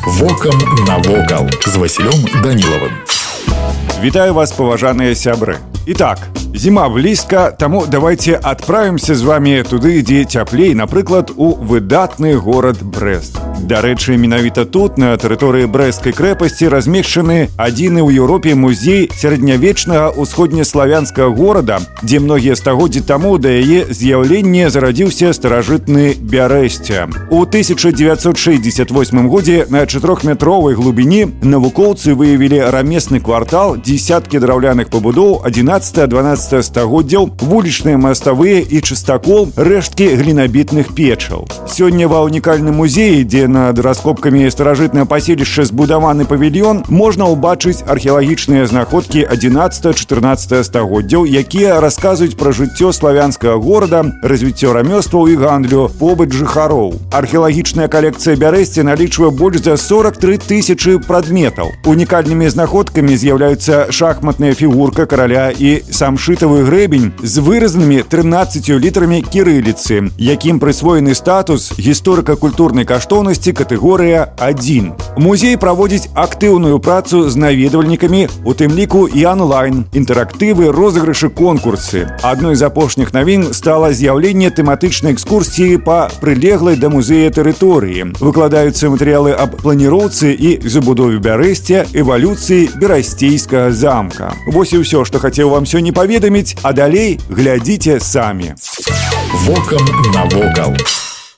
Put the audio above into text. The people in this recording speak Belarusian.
Вокам навокал з Васілём Данілавым. Вітаю вас, паважаныя сябры. Итак, зима близко, тому давайте отправимся с вами туды, дзе цяплей, напрыклад, у выдатны город Брест. Дарэчы, менавіта тут, на тэрыторыі Брэсцкай крэпасці, размешчаны адзіны ў Еўропе музей сярэднявечнага ўсходнеславянскага горада, дзе многія стагоддзі таму да яе з'яўлення зарадзіўся старажытны Бярэсце. У 1968 годзе на 4-метровай глыбіні навукоўцы выявілі рамесны квартал, дзесяткі драўляных пабудоў 11-12 стагоддзяў, вулічныя маставыя і частакол, рэшткі глінабітных печаў. Сёння ва ўнікальным музеі, дзе над раскопкамі старажытнага паселішча збудаваны павільён, можна ўбачыць археалагічныя знаходкі 11-14 стагоддзяў, якія расказваюць пра жыццё славянскага горада, развіццё рамёстваў і гандлю, побыт жыхароў. Археалагічная калекцыя Бярэсці налічвае больш за 43 тысячы прадметаў. Унікальнымі знаходкамі з'яўляюцца шахматная фігурка караля і самшытавы грэбень з выразанымі 13 літарамі кірыліцы, якім прысвоены статус гісторыка-культурнай каштоўнасці катэгорыя 1. Музей праводзіць актыўную працу з наведвальнікамі, у тым ліку і онлайн, інтэрактывы, розыгрышы, конкурсы. Адной з апошніх навін стала з'яўленне тэматычнай экскурсіі па прылеглай да музея тэрыторыі. Выкладаюцца матэрыялы аб планіроўцы і забудове Бярэсця, эвалюцыі берасцейскага замка. Вось і ўсё, што хацеў вам сёння паведаміць, а далей глядзіце самі. Вокам навокал.